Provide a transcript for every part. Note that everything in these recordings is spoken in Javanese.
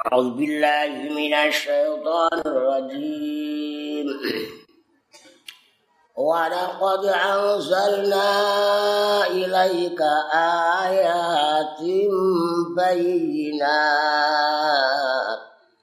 أعوذ بالله من الشيطان الرجيم ولقد أنزلنا إليك آيات بينات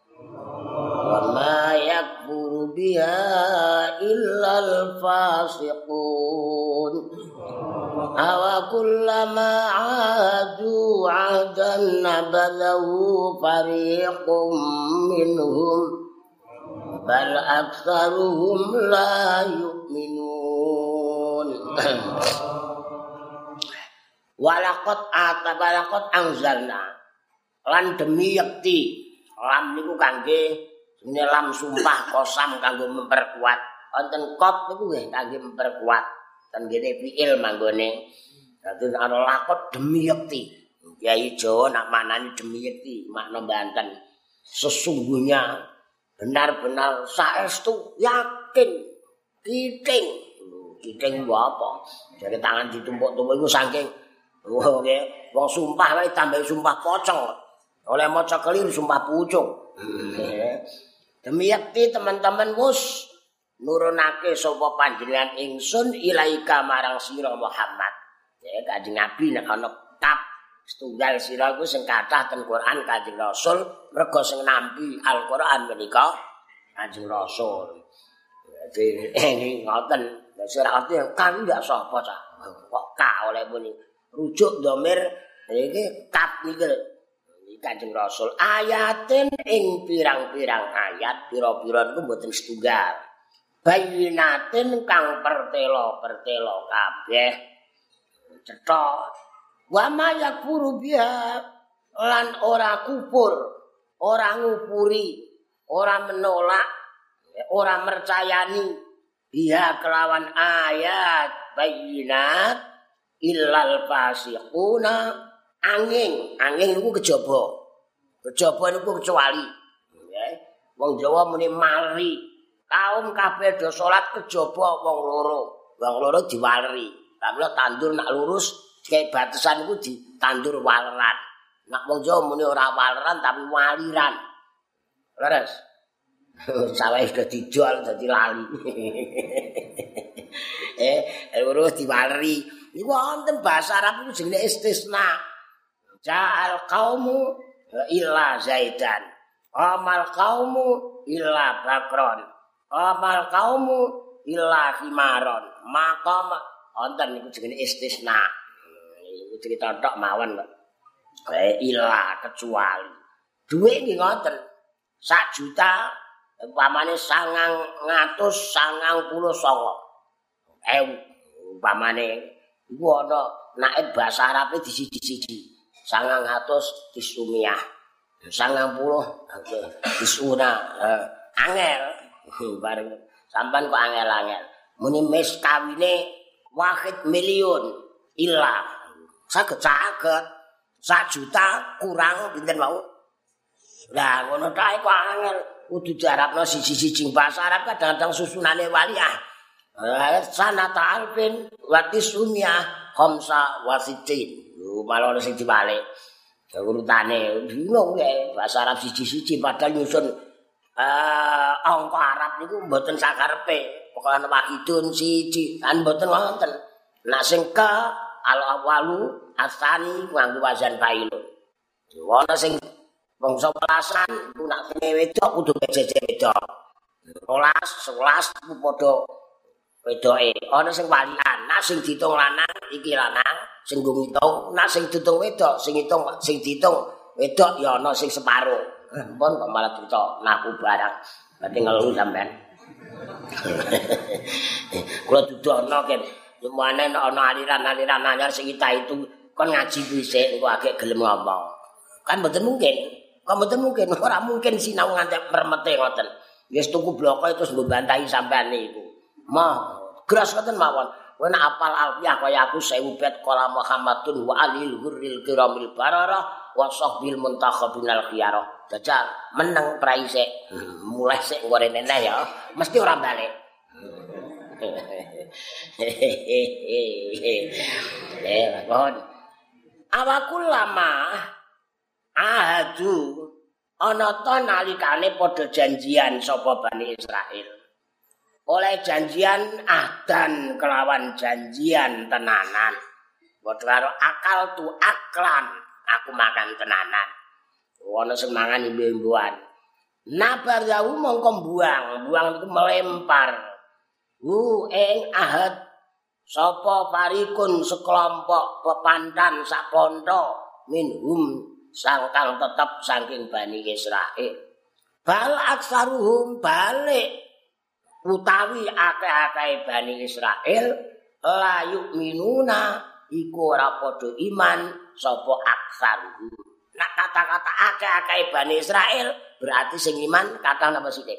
وما يكفر بها إلا الفاسقون أَوَكُلَّمَا عَاهَدُوا عَهْدًا نَبَذَهُ فَرِيقٌ مِّنْهُمْ بَلْ أَكْثَرُهُمْ لَا يُؤْمِنُونَ Walaqad anzalna lan demi yakti lam niku kangge lam sumpah kosam kanggo memperkuat wonten qad niku nggih kangge memperkuat ten kene fiil manggone dadi ana lakot demi yakti Kyai Jawa nak manani demi yakti makna Banten sesungguhnya benar-benar saestu yakin kiting apa jare tangan ditumpuk-tumpuk iku saking wong sumpah wae tambah sumpah pocong oleh maca keliru sumpah pucung demi yakti teman-teman wus nurunake sapa panjenengan ingsun ilaika marang sira Muhammad. Ya Kanjeng Nabi nek ana kitab setunggal sira iku sing kathah ten Quran Kanjeng Rasul merga sing nampi Al-Qur'an menika Kanjeng Rasul. Jadi ngoten sira arti kan ndak sapa cah. Kok ka oleh muni rujuk dhamir iki kat niku Kanjeng Rasul ayatin ing pirang-pirang ayat pira-pira niku mboten setunggal. Bayinatin kang pertelo kabeh cetha wa ma yakfuru biha lan ora kufur ora ngupuri ora menolak ora mercayani biha kelawan ayat bayinat illal fasiquna angin niku kejaba niku kecuali wong Jawa muni mari kaum kabeh do salat kejaba wong loro diwaleri tapi tandur nak lurus kayak batasan iku ditandur waleran nak wong Jawa muni ora waleran tapi waliran leres sawah sudah dijual dadi lali lurus diwaleri iku wonten bahasa Arab iku jenenge istisna ja'al qaumu illa zaidan amal qaumu illa bakron amal kaumu illa himaron maka wonten niku jenenge istisna iku cerita tok mawon kok illa kecuali dhuwit nggih ngoten 1 juta umpamane 999.000 umpamane iku ana naik bahasa Arabe di siji-siji 900 disumiah 90 disuna angel bareng sampean kok angel-angel muni mes kawine 1 miliun illa saged 1 juta kurang pinten mau lah ngono tae kok angel kudu diarapno siji-siji bahasa Arab kadang-kadang susunane waliah sanata alfin wa tisumia khamsa wasitin malah sing dibalik urutane bingung ya bahasa Arab siji-siji padahal nyusun angka Arab niku mboten sakarepe pokoke wahidun siji kan mboten wonten nek sing ka al-awwalu asani nganggo wazan fa'ilun ana sing bangsa welasan ku nek wedok kudu jeje wedok 12 11 ku padha wedoke ana sing walian nek sing diitung lanang iki lanang sing ngitung nek sing diitung wedok sing diitung wedok ya ana sing separo pun kok malah cerita naku barang berarti ngeluh sampean kula dudono ken lumane ana aliran-aliran anyar sing kita itu kon ngaji dhisik engko agek gelem ngomong kan mboten mungkin ora mungkin sinau nganti mermete ngoten wis tuku bloko terus mbok bantahi sampean niku mah gras ngoten mawon kowe nek apal alfiah kaya aku 1000 bet qala Muhammadun wa alil hurril kiramil bararah wa sahbil muntakhabinal khiyarah Dajjal meneng praise mulai sik ngorene ya mesti ora balik mohon awakul lama ahadu ana ta nalikane padha janjian sapa Bani Israil. Oleh janjian ahdan kelawan janjian tenanan. Padha karo akal tu aklan, aku makan tenanan. Ana sing mangan imbe-imbuan. Nabaryahu mongko buang itu melempar. Ing ahad sapa parikun sekelompok pepantan sak ponto minhum sangkang tetep saking Bani Israil. Bal aksaruhum balik utawi akeh-akeh Bani Israil la yu'minuna iku ora padha iman sapa aksaruhum. Nah kata-kata akeh-akeh Bani Israil berarti sing iman kata napa sithik?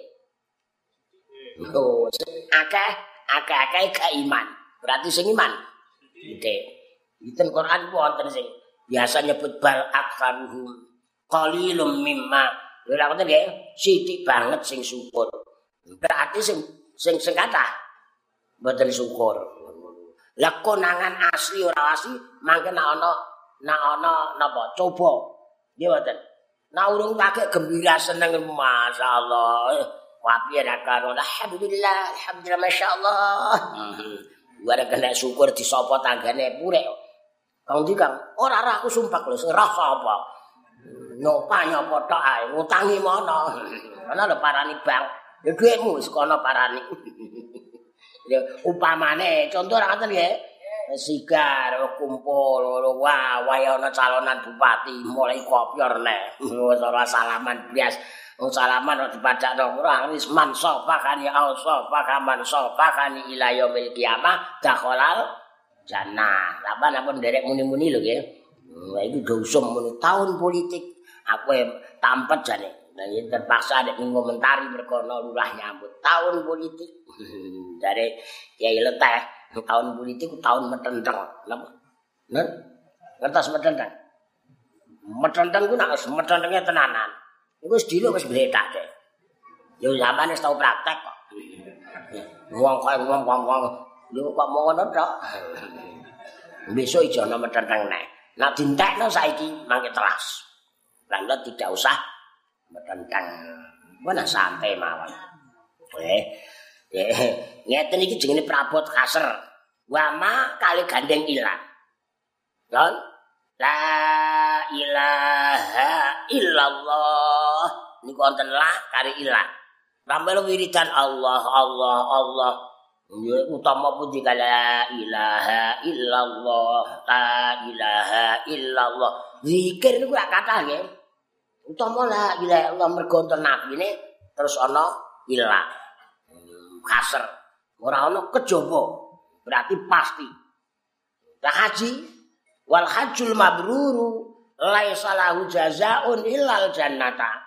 Oh, akeh-akeh gak iman. Berarti sing iman. Sithik. Iten Quran ku wonten sing biasa nyebut bal aksaruhum qalilum mimma. Lha ngoten nggih, sithik banget sing syukur. Berarti sing kathah mboten syukur. Lah konangan asli ora asli mangke nek ana napa coba. Nggih mboten. Nek urung kakek gembira seneng masyaallah. Wapi ra karo alhamdulillah masyaallah. Luar kena syukur disapa tanggane purek. Kang ndi Kang? Ora aku sumpah lho, ora sapa. Nyopa tok ae, ngutangi mono. Ana lho parani bang. Ya dhuwitmu wis kono parani. Ya upamane contoh ora ngoten nggih. Sigar kumpul wah ana calonan bupati mulai kopior nek. Ora salaman bias. Salaman dipadakno ora wis man sofakani sofakan sofakani ila yaumil kiamah dakhalal jannah. Apa napa nderek muni-muni lho nggih. Lah iki dosum muni tahun politik aku tampet jane. Nah iki terpaksa nek ngomentari mergo ana lurah nyambut tahun politik. Dari Kiai Leteh tahun politik tahun metenteng. Napa? Nen? Ngertos metenteng. Metenteng ku nek metentenge tenanan. Iku wis dilo wis bletak deh. Yo sampeyan wis tau praktek kok. Wong lho kok mau ngono tok. Besok ijo ana metenteng nek. Nek dintekno saiki mangke telas. Lan tidak usah metenteng. Mana santai mawon. Ngeten iki jenenge prabot kasar. Wama kali gandeng ilang. Kan? La ilaha illallah. Niku wonten la kari ilang. Rampel wiridan Allah. Ya utama puji la ilaha illallah. La ilaha illallah. Zikir niku gak kathah nggih. Utama la ilaha illallah mergo wonten nabine terus ana ilang. Kasar. Ora ana kejaba. Berarti pasti. Lah haji wal hajjul mabruru laisa lahu jazaa'un illal jannata.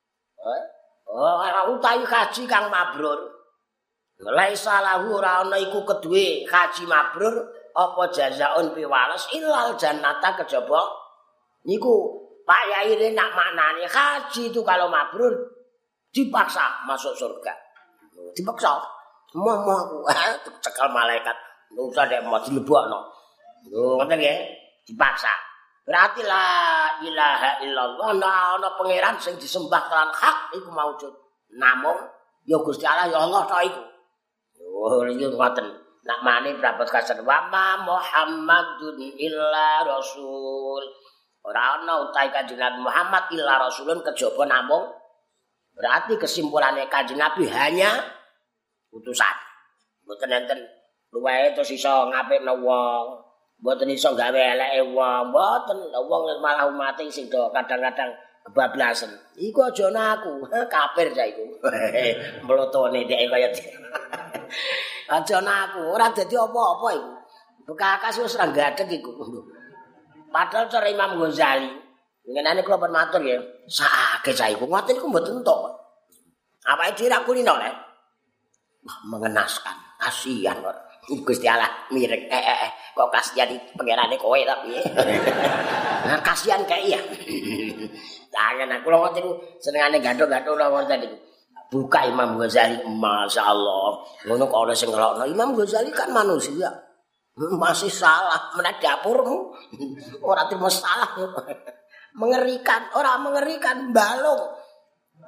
Ora utawi haji kang mabrur. Laisa lahu ora ana iku keduwe haji mabrur apa jazaa'un piwales illal jannata kejaba niku Pak Yai nak maknane haji itu kalau mabrur dipaksa masuk surga. Dipaksa. Mau aku cekal malaikat. Usah dek mau dilebokno. Lho ngoten nggih. Dipaksa. Berarti la ilaha illallah ana pangeran sing disembah kelan hak iku maujud. Namung ya Gusti Allah ya Allah tok iku. Oh iki ngoten. Nak mani prabot kasen wa Muhammadun illa rasul. Ora ana utahe Kanjeng Nabi Muhammad illa rasulun kejaba namung berarti kesimpulannya Kanjeng Nabi hanya utusan. Mboten enten luwih terus iso ngapikno wong. Mboten iso gawe eleke wong, mboten. Wong malah umate sing do kadang-kadang kebablasan. Iku aja aku, kafir ta iku. Mlotone dhek kaya aja aku, ora dadi apa-apa iku. Bekas wis ora gadeg iku. Padahal cara Imam Ghazali, ngenane kula pun matur ya, sakake cah iku ngoten iku mboten entuk. Awake dhewe ra kulino le. Mengenaskan, kasihan kok. Gusti Allah mirek kok kasihan pangerane kowe ta piye. Nah kasihan kae ya. Tangan aku lho ngoten senengane ganthok-ganthok wonten iki. Buka Imam Ghazali, masyaallah. Ngono kok ana sing ngelokno. Imam Ghazali kan manusia. Masih salah menak dapurmu. Ora terima salah. Mengerikan, ora mengerikan balung.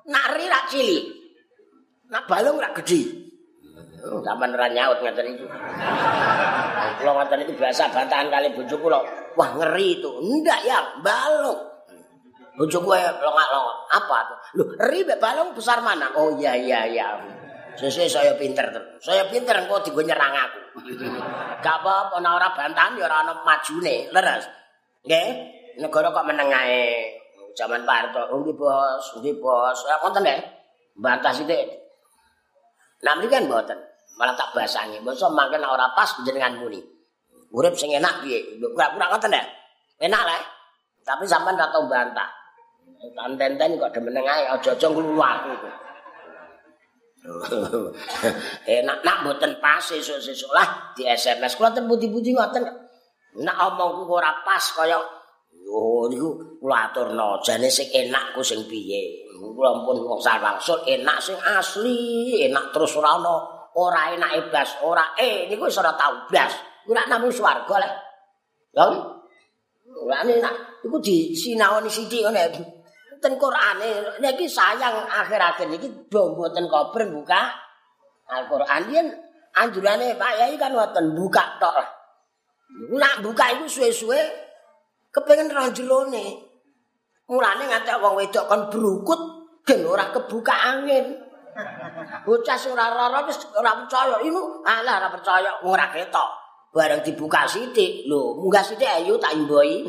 Nak ri rak cilik. Nak balung rak gedhi. Sampeyan ora nyaut ngaten iki. Kula ngaten iki biasa bantahan kali bojo kula. Wah ngeri itu. Ndak ya, balung. Bojo gue longak-longok. Apa tuh? Loh, ri mek balung besar mana? Oh iya. Sesuk saya pinter terus. Saya pinter engko digo nyerang aku. Gak apa-apa ana ora bantahan ya ora ana majune, leres. Nggih, negara kok meneng ae. Zaman Pak Harto, nggih bos. Ya konten nggih. Bantah sithik. Nah mriki kan mboten. Malah tak basangi. Mosok mangke nek ora pas jenengan muni. Urip sing enak piye? Kurang ngoten ya. Enak lah. Tapi sampean ora tau bantah. Tenten kok demeneng ae aja-aja nglulu aku iku. Nak mboten pas sesuk-sesuk lah di SMS kula ten pundi-pundi ngoten. Nak omongku ora pas kaya yo niku kula aturno jane sing enak ku sing piye. Kula pun wong sarwangsul enak sing asli, enak terus ora enak blas, ora niku wis ora tau blas. Ku nak namung swarga lek. Lha ora enak iku disinaoni sithik ngene. Ten Qur'ane niki sayang akhir-akhir niki mboten kober buka Al-Qur'an yen anjurane Pak Yai kan ngoten buka tok lah. Nak buka iku suwe-suwe kepengin ra jerone. Mulane ngantek wong wedok kon brukut gen ora kebuka angin. Bocah sing ora lara wis ora percaya. Iku alah ora percaya ora ketok. Bareng dibuka sithik. Lho, munggah sithik ayo tak imboi.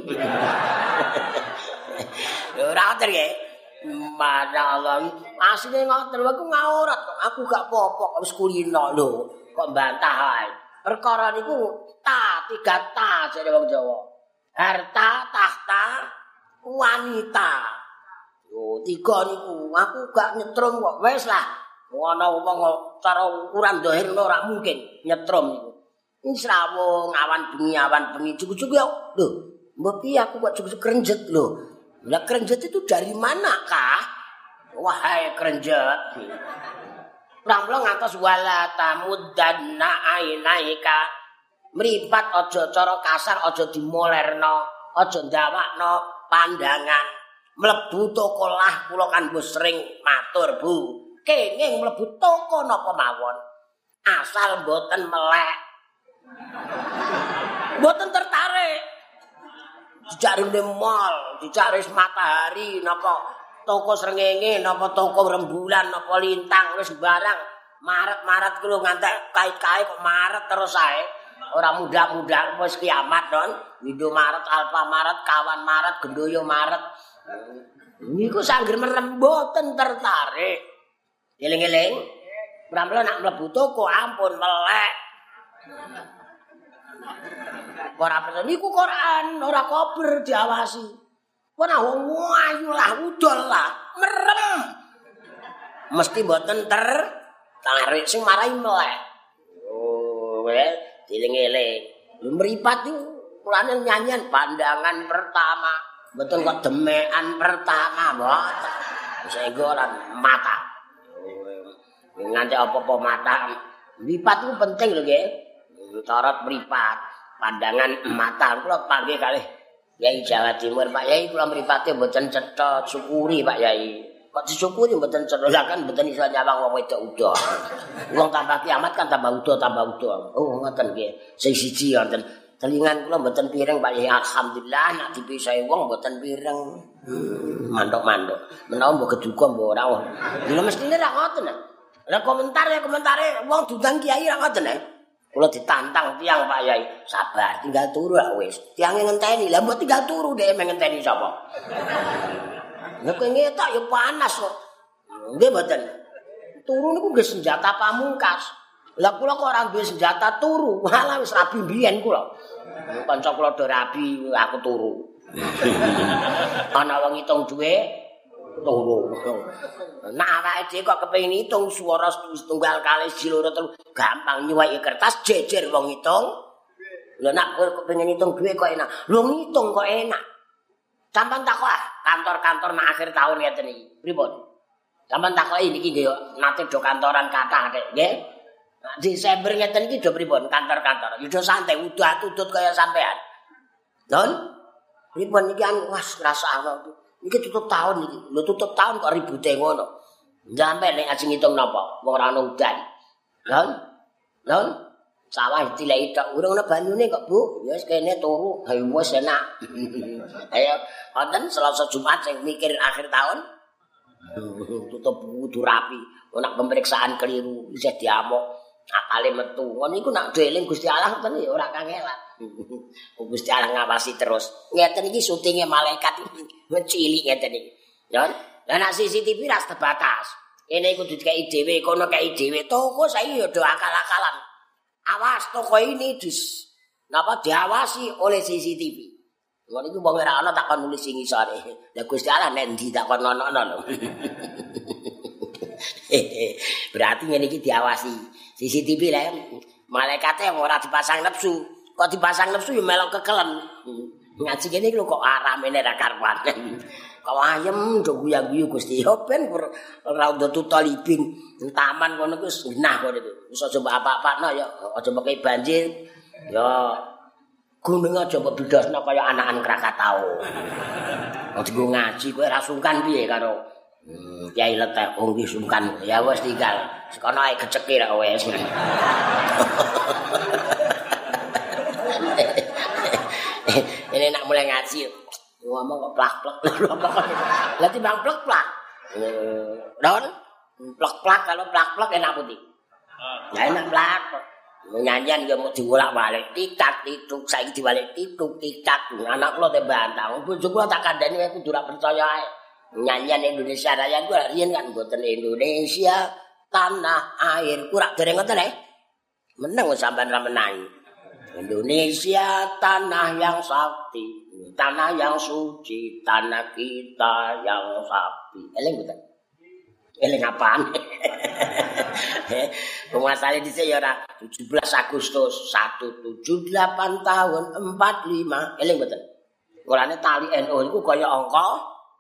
Ora ngoten nggih. Masyaallah. Asline ngoten aku ngaurat kok. Aku gak apa-apa wis kulino lho. Kok bantah ae. Perkara niku tiga ta jare wong Jawa. Harta, tahta, wanita. Yo tiga niku aku gak nyetrum kok. Wis lah. Ana wong cara ukuran zahir ora mungkin nyetrum niku. Wis rawuh awan bengi cukup-cukup ya. Lho, mbok piye aku kok cukup krenjet lho. Lah krenjet itu dari mana kah? Wahai krenjet. Pramila ngantos wala tamuddanna ainaika. Mripat aja cara kasar aja dimolerno, aja ndawakno pandangan. Mlebu toko lah kula kan wis sering matur, Bu. Kenging mlebu toko napa mawon. Asal mboten melek. Mboten tertarik. Dicari di mall, dicari matahari, napa toko srengenge, napa toko rembulan, napa lintang, wis barang maret kulo ngantek kait-kait kok maret terus ae. Ora mudah-mudah wis kiamat don. Indomaret, Alfamaret, Kawan Maret, Gendoyo Maret. Niku sangger merem mboten tertarik. Eling-eling. Pramila nak mlebu toko ampun melek. Ora percaya niku Quran, ora kober diawasi. Ora ayu lah, udol lah, merem. Mesti mboten tertarik sing marahi melek. Oh, dieling-eling. Mripat niku kulane nyanyian pandangan pertama. Mboten kok demekan pertama, mboten. Sehingga lan mata. Nganti apa-apa mata. Mripat niku penting lho nggih. Cara mripat. Pandangan mata kula panggih kalih Yai Jawa Timur Pak Yai kula mripate mboten cetha syukuri Pak Yai. Kok disyukuri mboten cetha lah kan mboten iso nyawang wong wedok udo. Wong tambah kiamat kan tambah udo. Oh ngoten nggih. Sing siji wonten telingan kula mboten pireng Pak Yai alhamdulillah nak dipisahi wong mboten pireng. Mandok-mandok. Menawa mbok keduga mbok ora. Lha mestine ra ngoten. Lah komentare wong dudang kiai ra ngoten. Kula ditantang tiyang Pak Yai, sabar tinggal turu lah wis. Tiange ngenteni, lah mbok tinggal turu dhek ngenteni sapa? Lah kowe ngetok ya panas kok. Nggih mboten. Turu niku nggih senjata pamungkas. Lah kula kok ora duwe senjata turu, malah wis rabi mbiyen kula. Kanca kula do rabi, aku turu. Ana wong ngitung duwe turu. Nah awake dhewe kok kepengin ngitung swara setunggal kali siji loro telu gampang nyuwaki kertas jejer wong ngitung. Lho nak kowe kepengin ngitung duwe kok enak. Lho ngitung kok enak. Sampeyan takok kantor-kantor nak akhir tahun ngeten iki. Pripun? Sampeyan takoki niki nggih nate do kantoran kathah Dek, nggih. Desember ngeten iki do pripun kantor-kantor? Ya do santai udah-utut kaya sampean. Don? Pripun iki wah ngrasakno. Iki tutup tahun iki. Lho tutup tahun kok ribute ngono. Sampai nek ajeng ngitung napa? Wong ora ono udan. Lon. Sawah dileki tok urung ana banyune kok, Bu. Ya wis kene turu. Ha wis enak. Ayo wonten Selasa Jumat sing mikir akhir tahun. Tutup kudu rapi. Nek pemeriksaan keliru isih diamuk. Akale metu. Ngono iku nak dieling Gusti Allah ngoten ya ora kangelan. Gusti Allah ngawasi terus. Ngeten iki syutinge malaikat cilik ngeten iki. Ya. Lah nek CCTV ras terbatas. Kene kudu dikeki dhewe, kono kei dhewe. Toko saiki ya do akal-akalan. Awas toko ini diawasi oleh CCTV. Ngono iku wong ora ana tak kon nulis sing isore. Lah Gusti Allah nek ndi tak kon ono lho. Berarti ngene iki diawasi. CCTV lah malaikate ora dipasang nepsu. Kok dipasang nepsu ya melok kekelen. Ngaji kene lho kok aramene ra karuan. Kok ayem do guyang-guyu Gusti yo ben ora ndutu talibin. Taman ngono ku wis genah kok itu. Wis aja mbok apa-apakno ya, aja mekei banjir. Ya gunung aja mbok bidasno kaya anakan Krakatau. Wong dienggo ngaji kowe ra sungkan piye karo Kyai Letek wong iki sungkan. Ya wis tinggal. Sekono ae geceke ra wis. Ini nak mulai ngaji. Ngomong kok plak-plak. Lah timbang plak-plak. Don, plak-plak kalau plak-plak enak putih. Ya enak plak. Nyanyian ya mau diwolak-walik titak tituk saiki diwalik tituk titak. Anak kula te bantah. Bojo kula tak kandhani aku kudu ra percaya ae. Nyanyian Indonesia Raya ku riyen kan mboten Indonesia tanah air ku rak dereng ngoten meneng sampean ra menangi. Indonesia tanah yang sakti, tanah yang suci, tanah kita yang sapi. Eling mboten? Eling apaan? Penguasane dhisik ya ora 17 Agustus 178 tahun 45. Eling mboten? Mulane tali NU iku kaya angka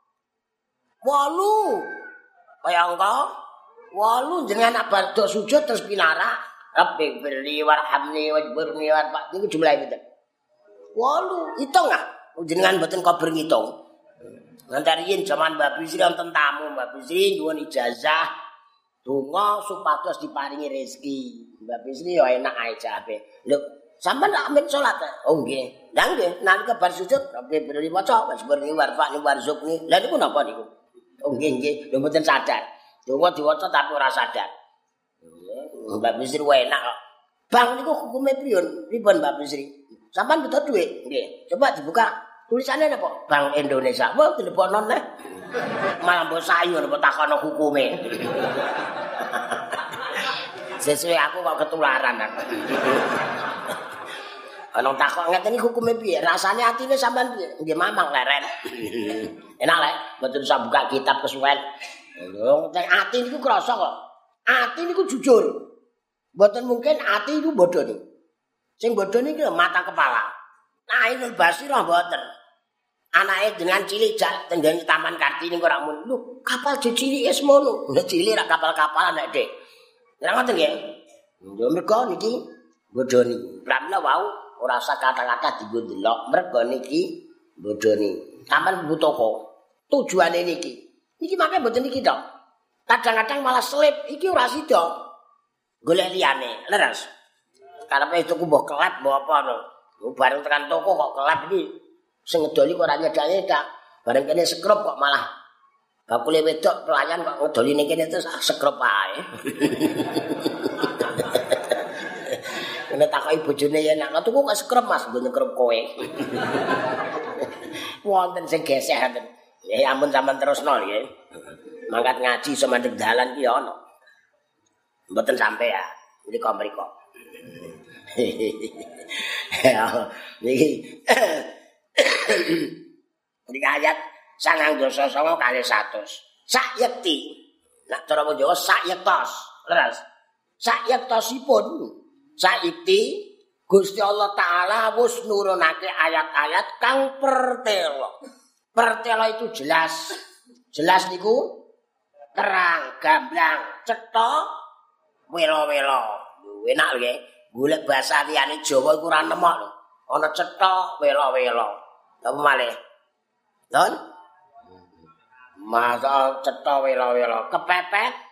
8. Kaya angka 8 jenengan nak badhe sujud terus pinarak Rabbi firli warhamni wajburni warfa. Niku jumlahe pinten? 8. Hitung ah. Jenengan mboten kober ngitung. Nganti zaman Mbak Bisri wonten tamu, Mbak Bisri nyuwun ijazah donga supados diparingi rezeki. Mbak Bisri yo enak ae jabe. Lho, sampean nak amin salat? Oh nggih. Lah nggih, nalika bar sujud Rabbi firli maca wajburni warfa warzuqni. Lah niku napa niku? Oh nggih. Lho mboten sadar. Donga diwaca tapi ora sadar. Mbak Bisri enak kok. Bang niku hukume pripun Mbak Bisri? Sampeyan butuh duit? Nggih. Coba dibuka tulisannya apa? Bank Indonesia. Wah, telepon neh. Malah mbok sayur mbok takono hukume. Sesuai aku kok ketularan aku. Ana takok ngeten iki hukume piye? Rasane atine sampean piye? Nggih mamang leren. Enak lek mboten usah buka kitab kesuwen. Lho, ati niku krasa kok. Ati niku jujur. Mboten mungkin ati itu bodho niku. Sing bodho niki mata kepala. Nah, Ainul Basirah mboten. Anake dengan cilik jak tenggang Taman Kartini kok ora mun. Lho, kapal cilik wis mono. Lah cilik rak kapal-kapalan nek, Dik. Ora ngoten nggih. Yo mergo niki bodho niki. Pramila wau ora usah kata-kata dienggo ndelok. Mergo niki bodho niki. Sampeyan toko. Tujuane niki. Niki makane mboten niki tok. Kadang-kadang malah selip. Iki ora sida. Golek liyane, leres. Karepe tuku mbok kelap mbok apa to. Bareng tekan toko kok kelap iki sing ngedoli kok ora nyedak-nyedak. Bareng kene sekrup kok malah bakule wedok pelayan kok ngedoli ning kene terus sekrup ae. Kene takoki bojone yen nak tuku kok sekrup Mas, nggo nyekrup kowe. Wonten sing geseh ngoten. Ya ampun sampean terusno nggih. Mangkat ngaji iso mandeg dalan ki ana. Mboten sampe ya. Mriko. Niki. Niki ayat 929 kali 100. Sak yekti. Nek cara Jawa sak yektos. Leres. Sak yektosipun. Sak yekti Gusti Allah taala wis nurunake ayat-ayat kang pertelo. Pertelo itu jelas. Jelas niku terang, gamblang, cetha welo-welo. Enak nggih. Golek basa liyane Jawa iku ora nemok lho. Ana cetha welo-welo. Apa malih? Don? Masa cetha welo-welo kepepet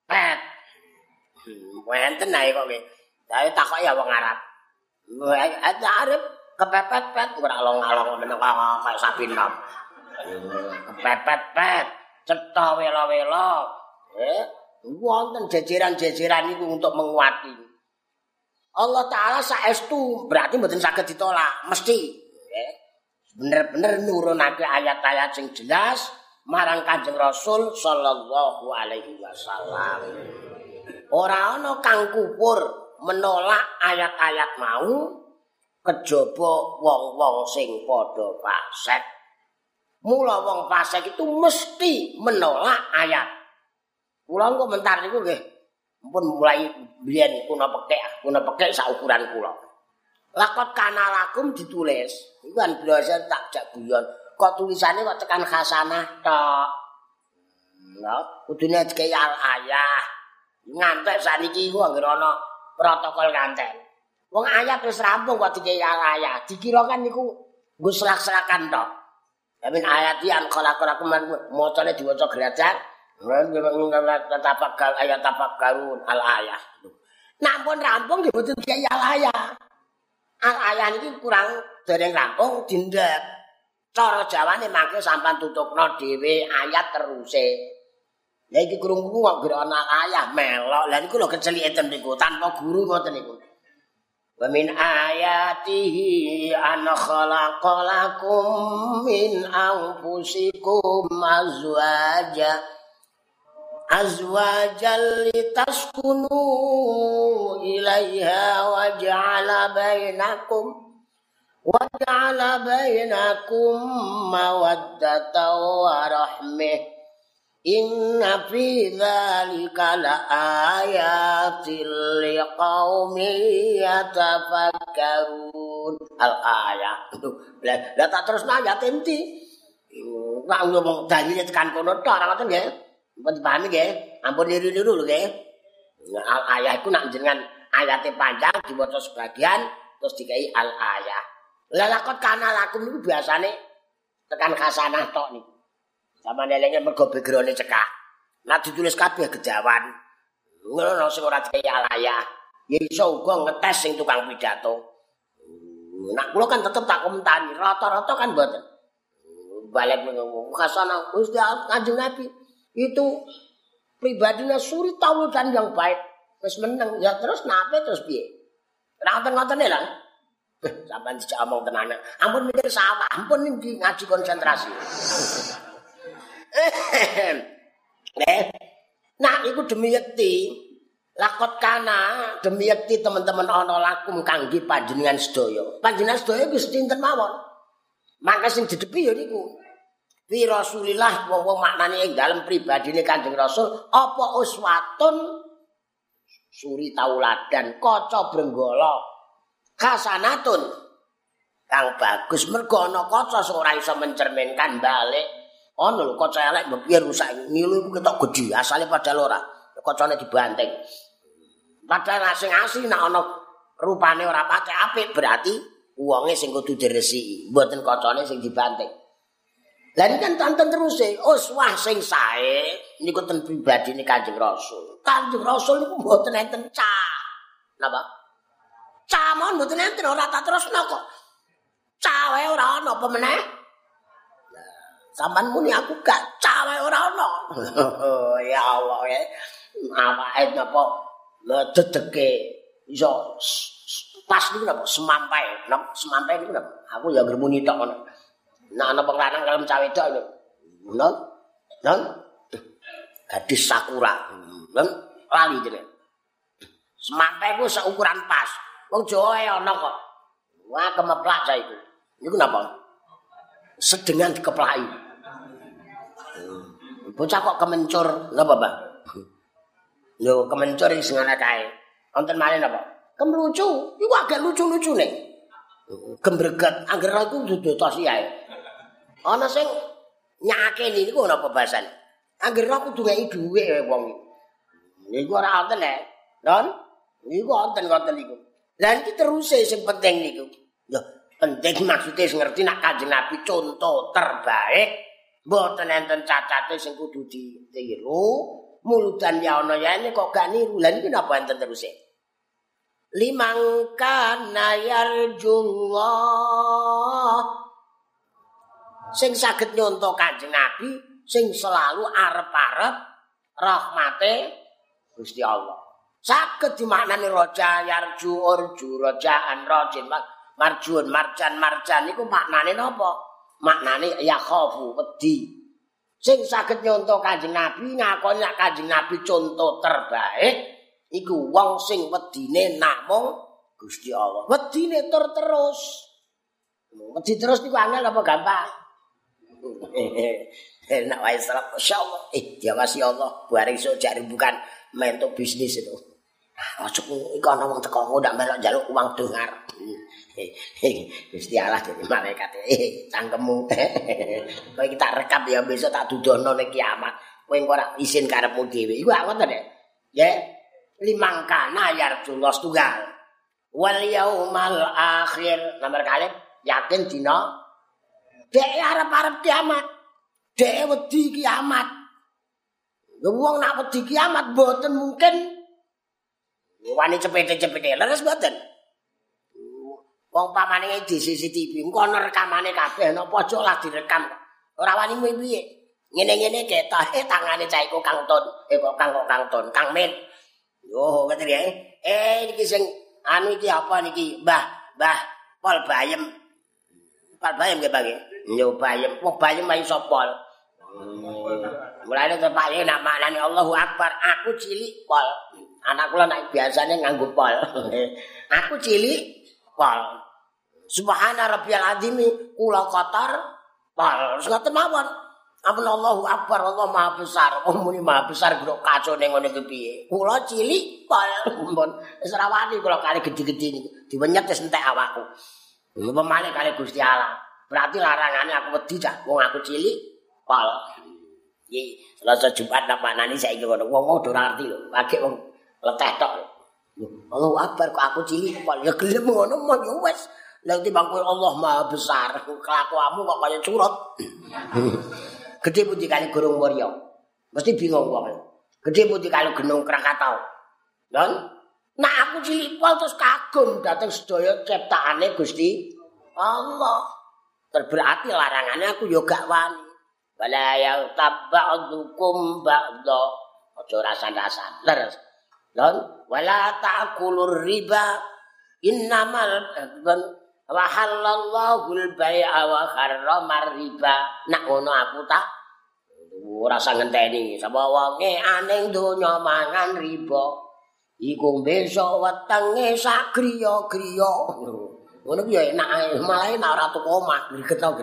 pet. Wenten ae kok nggih. Saya takok ya wong Arab. Arab kepepet-pet ora along-along meneng kaya sapi nom. Kepepet-pet, cetha wela-wela. Wonten jejeran-jejeran niku untuk menguati. Allah Ta'ala saestu berarti mboten saged ditolak, mesti. Bener-bener nurunake ayat-ayat sing jelas marang Kanjeng Rasul sallallahu alaihi wasallam. Ora ana kang kufur menolak ayat-ayat mau kejaba wong-wong sing padha fasik. Mula wong fasik itu mesti menolak ayat. Kula komentar niku nggih mumpun mulai biyen kuna pekek sak ukuran kula. Lakot kana lakum ditulis. Iku kan biasa tak jak guyon. Kok tulisane kok tekan khasanah tok. Lha kudune dikai al-ayah. Ngantek sakniki iku anggere ana protokol nganten. Wong ayat wis rampung kok dikai al-ayah. Dikira kan niku nggo selak-selakan tok. Amin ayat yang khalaqalakum macane diwaca gerajak. Tapak ayat tapak garun al-ayah. Nak pun rampung nggih mboten dikai al-ayah. Al-ayah niki kurang dereng rampung dindek. Cara Jawane mangke sampean tutupno dhewe ayat teruse. Lah iki krungu kok gara ana ayah melok. Lah niku lho kecelike ten niku tanpa guru ngoten niku. Wa min ayatihi an khalaqalakum min anfusikum azwajal litaskunu ilaiha wa ja'ala bainakum mawaddatan wa rahmah. Inna fi dzalika laayatil liqaumin yatafakkarun. Al-ayah. Lah tak terusno ayat inti. Nek ngomong dalile tekan kono tok ora ngoten nggih. Ampun dipahami nggih. Ampun niru-niru lho nggih. Al-ayah iku nek jenengan ayate panjang diwaca sebagian terus dikai al-ayah. Lah lakot kana lakum niku biasane tekan khasanah tok niku. Sama nelenge mergo background cekak. Nek ditulis kabeh gejawan. Ngono sing ora dikai al-ayah. Ya iso uga ngetes sing tukang pidato. Nek kula kan tetep tak komentari, rata-rata kan mboten. Balik ngomong khasanah Gusti Kanjeng Nabi itu pribadinya suri tauludan yang baik. Wis meneng ya terus nape terus piye? Ora ngoten-ngotene lah. Sampeyan dijak omong tenanan. Ampun mikir sawah, ampun iki ngaji konsentrasi. Nah, iku demi yekti. Lakot kana demi yekti teman-teman ana lakum kangge panjenengan sedaya. Panjenengan sedaya iku sinten mawon. Maka sing didepi ya niku. Fi Rasulillah wong maknane ing dalem pribadine Kanjeng Rasul apa uswatun suri tauladan kaca brenggala hasanatun kang bagus mergo ana kaca sing ora iso mencerminkan balik. Ono lho kaca elek mbok piye rusak ngilu iku ketok gedhi asale padahal ora kacane dibanting. Padahal sing asli nek ana rupane ora patek apik berarti wonge sing kudu diresiki mboten kacane sing dibanting. Lah ini kan tonton terus uswah sing sae niku ten pribadine Kanjeng Rasul. Kanjeng Rasul niku mboten enten cah. Napa? Cah mon mboten enten ora tak terusno kok. Cah wae ora ana apa meneh? Sampeyan muni aku gak cawe ora ono. Ya Allah ya. Awake napa dedeke iso pas niku napa semampai. Napa semampai niku napa? Aku ya ngremuni tok ngono. Nek ana wong lanang kalem cawe tok lho. Non. Gadis sakura. Non lali jenenge. Semampai ku seukuran pas. Wong Jawa e ana kok. Wah kemeplak cah iku. Niku napa? Sedengan dikeplaki. Bocah kok kemencur, napa, Bang? Lho, kemencur iki sing ana kae. Wonten malih napa? Kemlucu, iku agak lucu-lucune. Gembreget, anggere iku dudotos ae. Ana sing nyakeni niku napa bahasane? Anggere aku duweki dhuwit wong iki. Niku ora wonten lho. Non, niku wonten-wonten niku. Lah iki teruse sing penting niku. Lho, penting maksudnya ngerti nak Kanjeng Nabi contoh terbaik mboten enten cacate sing kudu ditiru muludan ya ana ya ini kok gak niru. Lah niki napa enten terus e? Liman kana yarjullah sing saged nyonto Kanjeng Nabi sing selalu arep-arep rahmate Gusti Allah. Saged dimaknani roja yarju urju rojaan rojin marjun marjan niku maknane napa? Maknane ya khofu wedi. Sing saged nyonto Kanjeng Nabi ngakoni nek Kanjeng Nabi contoh terbaik iku wong sing wedine namung Gusti Allah. Wedine tur terus. Wedi terus niku angel apa gampang? Enak wae serap masyaallah. Diawasi Allah bareng iso jare bukan mentuk bisnis itu. Ojo iku ana wong teko ndak melok njaluk uang dongar. Gusti Allah dadi malaikat. Cangkemmu. Kowe iki tak rekap ya besok tak dudono ning kiamat. Kowe engko ora isin karepmu dhewe. Iku aku ngoten ya. Nggih. Limangkana yarjullah tunggal. Wal yaumal akhir. Nomor kali yakin dina dhek arep-arep kiamat. Dhek wedi kiamat. Wong nak wedi kiamat mboten mungkin wani cepete-cepete leres mboten. Wong pamane di CCTV engko ana rekamane kabeh ana pojok lah direkam. Ora wani piye. Ngene-ngene ketok tangane cah iku Kang Ton. Kok Kang Ton, Kang Men. Yo ngoten ya. Niki sing anu iki apa niki? Mbah Pol Bayem. Pol Bayem nggih, Pak nggih. Yo Bayem. Wong Bayem ayo sapa? Mulane tepake nak maknane Allahu Akbar. Aku cilik Pol. Anak kula nek biasane nganggo Pol. Aku cilik Pol. Subhana rabbiyal azim kula kotor Pol. Ngoten mawon. Ampun Allahu Akbar, Allah Maha Besar. Oh muni Maha Besar kok kacone ngene iki piye? Kula cilik Pol. Ampun. Wis ora wani kula kali gedhe-gedhe niku. Diwenyet wis entek awakku. Pemane kali Gusti Allah. Berarti larangane aku wedi cah. Wong aku cilik Pol. Iki Selasa Jumat nak maknani saiki ngono. Wong ora ngerti lho. Lagi wong leteh tok. Allahu Akbar kok aku cilik Pol. Ya gelem ngono mah ya wis. Lah timbang kowe Allah Maha Besar. Kelakuanmu kok kaya curut. Gedhe pundi kali Gunung Warya. Mesti bingung wong. Gedhe pundi kali Gunung Krakatau. Lha nek aku cilik Pol terus kagum dhateng sedaya ciptaane Gusti Allah. Berarti larangannya aku yo gak wani. Wala ya tabba'dukum ba'dha. Aja rasan-rasan. Leres. Lan wala ta'kulur riba innamal wa halallahu al-bai'a wa harramar riba. Nak ngono aku tak ora usah ngenteni. Sapa wonge aning donya mangan riba. Iku besok wetenge sak griya-griya. Ngono ku ya enak ae, malah nek ora tuku omah, gregetno.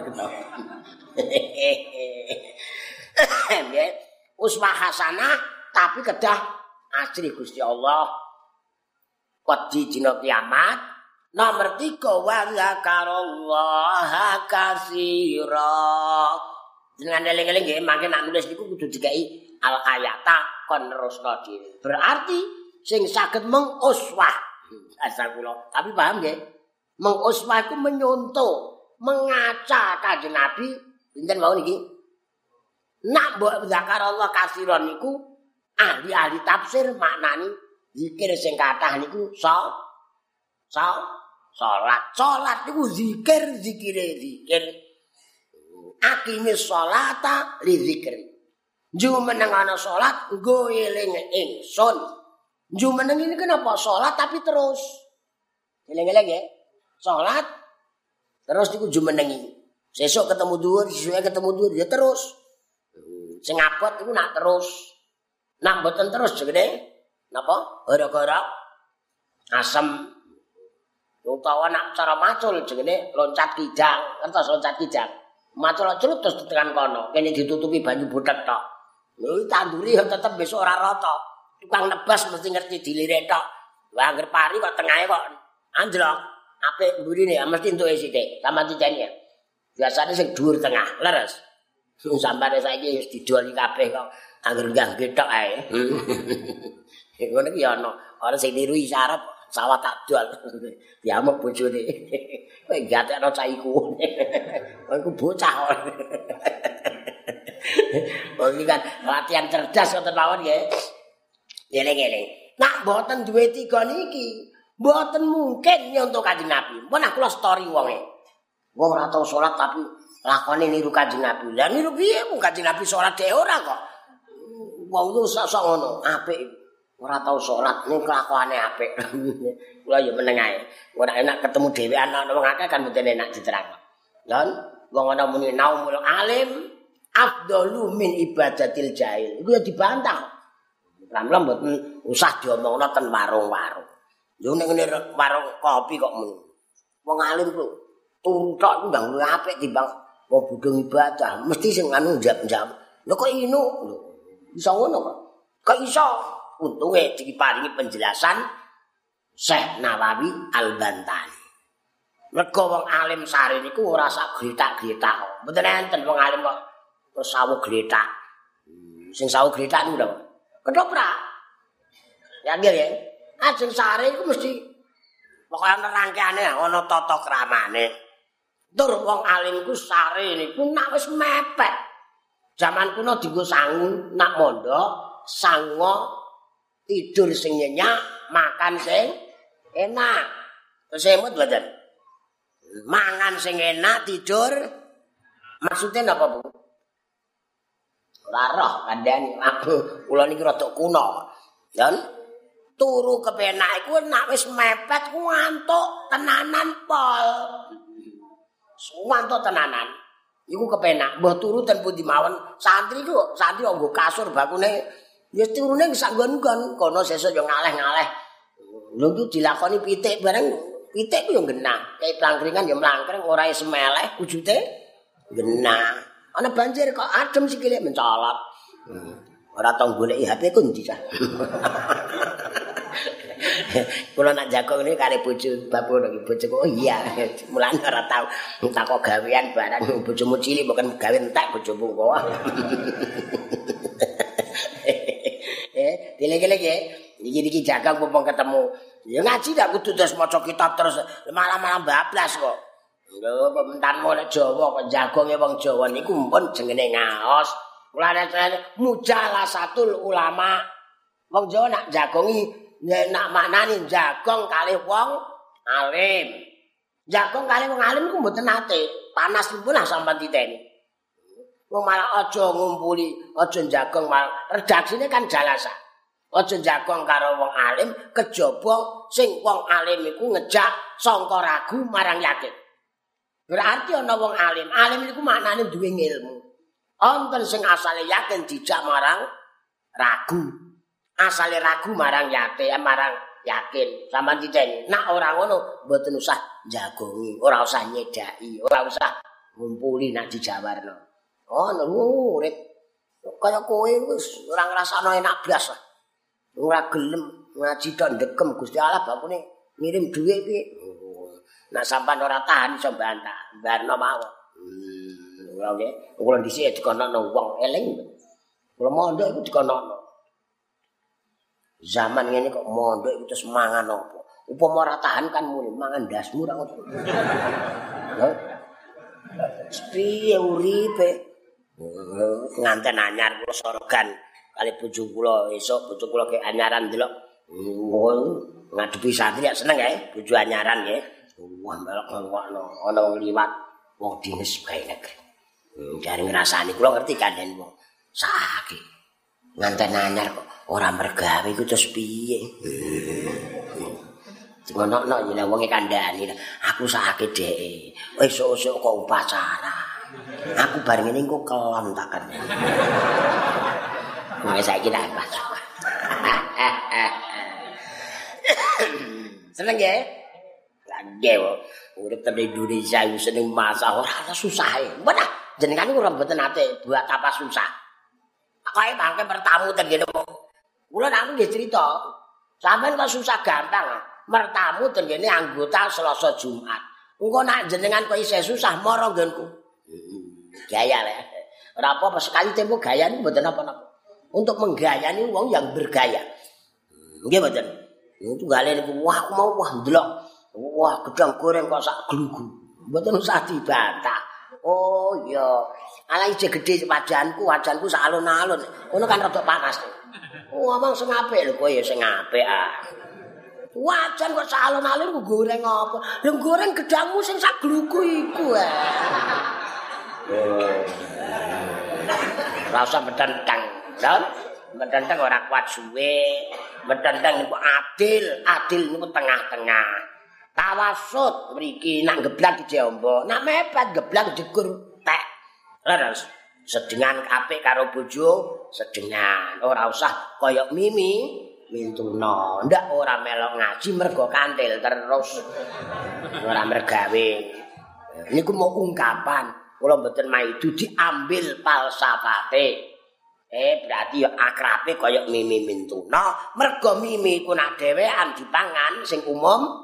Nggih, uswah hasanah tapi kedah asri Gusti Allah. Wedi dina kiamat. Nomor 3 wa zakarallaha katsira. Dengan eling-eling nggih, mangke nek nulis niku kudu dikai al ayata kon nerusno dhewe. Berarti sing saged menguswah. Asal kula, tapi paham nggih? Menguswah iku menyontoh, mengaca Kanjeng Nabi pinten mawon iki. Nak mbok zakarallah katsiran niku ahli-ahli tafsir maknani zikir sing kathah niku salat niku zikir. Akimis sholata li zikri. Jumeneng ana salat nggo eling ingsun. Jumeneng ini kenapa salat tapi terus. Eling-eling ya. Salat terus niku jumenengi. Sesuk ketemu dhuwur, sesuke ketemu dhuwur ya terus. Sing abot iku nak terus. Nak mboten terus jenenge napa? Gara-gara asem. Utawa nak cara macul jenenge loncat kijang, ngertos loncat kijang. Macul curut terus tekan kono, kene ditutupi banyu butek tok. Lho tanduri ya tetep besok ora rata. Tukang nebas mesti ngerti dilirik tok. Wah angger pari kok tengahe kok anjlok. Apik mburine mesti entuke sithik, sama diceni ya. Biasane sing dhuwur tengah, leres. Sampane saiki wis didoli kabeh kok angger nggangge tok ae. Ngono ki ana sing niru isyarat sawah tak dol. Diamuk bojone. Kowe gatekno cah iku. Kowe iku bocah. Oh iki kan latihan cerdas ngoten mawon nggih. Eling-eling. Nak mboten duwe tiga niki, mboten mungkin nyontoh Kanjeng Nabi. Mun aku kula story wonge. Wong ora tau salat tapi lakone niru Kanjeng Nabi. Lah niru piye mung Kanjeng Nabi salat dhewe ora kok. Wong ku sok-sok ngono, apik. Ora tau salat ning kelakuane apik. Kula ya meneng ae. Ora enak ketemu dhewean ana wong akeh kan mboten enak diterangno. Lan wong ana muni naumul alim afdalu min ibadatil jahil. Iku ya dibantah. Lam-lam mboten usah diomongno ten warung-warung. Yo ning ngene warung kopi kok men. Wong alim ku turu tok ndang luwih apik timbang wong bodho ibadah. Mesti sing anu njam-njam. Lho kok inu? Iso ngono kok. Kok iso? Untunge diparingi penjelasan Syekh Nawawi Al-Bantani. Mergo wong alim sari niku ora sak gletak-gletak. Mboten enten wong alim kok terus sawu gletak. Sing sawu gletak niku lho. Ketoprak. Ya nggih ya. Ajeng sari iku mesti pokoke nerangkeane ana tata kramane. Tur wong alim iku sari niku nak wis mepet. Zaman kuno dienggo sangu, nak mondok, sango tidur sing nyenyak, makan sing enak. Terus emut mboten. Mangan sing enak, tidur maksudnya napa, Bu? Ora roh kandhane aku kula niki rada kuno. Dan turu kepenak iku nek wis mepet ku ngantuk tenanan pol. Ngantuk tenanan. Iku kepenak, mbah turu ten pundi mawon. Santri nggo kasur bakune ya turune sak nggon-nggon kono sesuk yo ngaleh-ngaleh. Lho iki dilakoni pitik bareng pitik ku yo genah. Kayak plangkringan yo mlangkreng ora semeleh wujude genah. Ana banjir kok adem sikile mencolot. Ora tau goleki HP ku ndi cah. Kula nak jago ini kare bojo babu niki bojoku oh iya mulane ora tau takok gawean barang bojomu cilik bukan gawe entek bojomu kok. Dilege-lege iki jaga mumpung ketemu. Ya ngaji dak kudu terus maca kitab terus malam-malam bablas kok. Lho pementanmu nek Jawa kok jagonge wong Jawa niku mpun jenenge ngaos. Mulane mujalasatul ulama. Wong Jawa nak jagongi nak maknani jagong kalih wong alim. Jagong kalih wong alim iku mboten nate. Panas pun lah sampean titeni. Wong malah aja ngumpuli, aja jagong malah redaksine kan jalasa. Aja jagong karo wong alim kejaba sing wong alim iku ngejak sangka ragu marang yakin. Berarti ana wong alim, alim iku maknane duwe ilmu. Wonten sing asale yakin dijak marang ragu. Asale ragu marang yakin. Sampeyan titeni. Nak ora ngono mboten usah jagongi, ora usah nyedaki, ora usah ngumpuli nak dijawarno. Ono urip kaya kowe wis ora ngrasakno enak blas lah. Ora gelem ngaji tok ndekem Gusti Allah bakune ngirim dhuwit piye. Nak sampean ora tahan iso bantah, barno mawon. Ora nggih, kula dhisik dikonokno wong eling. Kula mondok iku dikonokno. Zaman ngene kok mondok iku terus mangan apa? Upama ora tahan kan muni mangan ndasmu ra ngono. Lho. Piye uripe? Nganten anyar kula sorogan kali bojo kula esuk bojo kula ke anyaran delok. Ngadepi santri ya seneng ya bojo anyaran ya. Wah melok-melokno ana wong liwat wong dinas bae negeri. Jare ngrasani kula ngerti kandhen wong sakit. Nganten anyar kok ora mergawe iku terus piye? Ngono-ngono ya wong kandhani. Aku sakit dhek. Esuk-esuk kok upacara. Aku bareng ngene engko kelon taken. Nek saiki tak upacara. Seneng ya? Lagi urip teng Indonesia iku seneng masak ora susah e. Mbah jenengan ora mboten nate buat apa susah. Kae mangke bertamu teng kene kok. Kula nak nggih crita. Sampeyan kok susah gampang. Mertamu teng kene anggota Selasa Jumat. Engko nak jenengan kok isih susah mara nggonku. Gaya le. Ora apa-apa sekali tempo gaya niku mboten apa-apa. Untuk menggayani wong yang bergaya. Nggih mboten. Itu gale niku wah aku mau wah ndelok. Wah gedang goreng kok sak glugu. Mboten usah dibantah. Oh iya, Ala ije gedhe wajanku sak alun-alun. Ngono kan rada panas. Ngomong sing apik lho kowe ya sing apik ah. Wajan kok sak alun-alun ku goreng apa? Lho goreng gedangmu sing sak gluku iku ah. Ora usah medentang, kan? Medentang ora kuat suwe. Medentang niku adil niku tengah-tengah. Tawasud mriki nak geblak dijombo, nak mepet geblak jegur tek. Leres. Sedengan apik karo bojo, sedengan. Ora usah kaya Mimi Mintuna. Ndak ora melok ngaji mergo kantil terus. Ora mergawe. Niku mau ungkapan. Kula mboten maidu diambil falsafate. Berarti ya akrabe kaya Mimi Mintuna, mergo Mimi ku nak dhewean dipangan sing umum.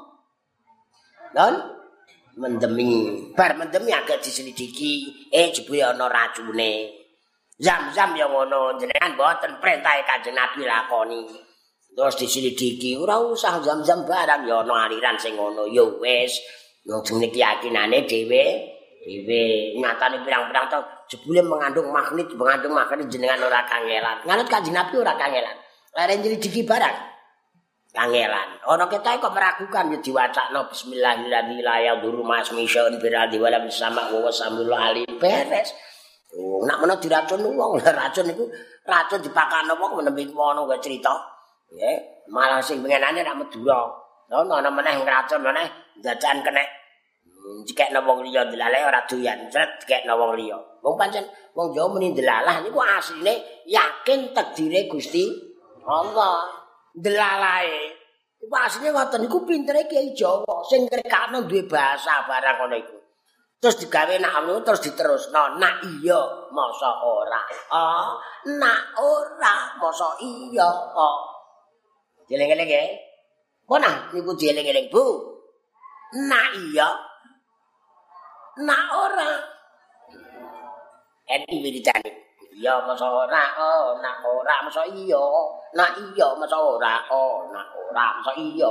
Don mendemi, bar mendemi agak diselidiki, jebule ana racune. Zam-zam ya ngono, jenengan mboten perintah Kanjeng Nabi lakoni. Terus diselidiki, ora usah zam-zam barang ya ana aliran sing ngono, ya wis. Wong jenenge keyakinane dhewe nyatane pirang-pirang tahun jebule mengandung magnet jenengan ora kangelan. Nganut Kanjeng Nabi ora kangelan. Lare nyelidiki barang kangelan. Ana ketoke kok meragukan ya diwacakno bismillahirrahmanirrahim la yadurru ma'asmi syai'un biradi wala bisama wa samul ali beres. Oh, nak menawa diracun wong, racun niku racun dipakano wong menembe ngono kok crita. Nggih, malah sing pengenane nak Madura. Ana meneh ngracun meneh dadan kenek dikekno wong liya delalah ora doyan, cret dikekno wong liya. Wong pancen wong Jawa muni delalah niku asline yakin takdire Gusti Allah. Delalahe. Iku asline ngoten niku pintere Kiai Jawa sing ngrekakno duwe bahasa barang ngono iku. Terus digawe nak anu terus diterusno, nak iya masa ora. Nak ora masa iya. Dieling-eling nggih. Mana niku dieling-eling Bu? Nak iya. Nak ora. Enti wiridane. Iya masa ora, nak ora masa iya. Nak iya masa ora, nak ora masa iya.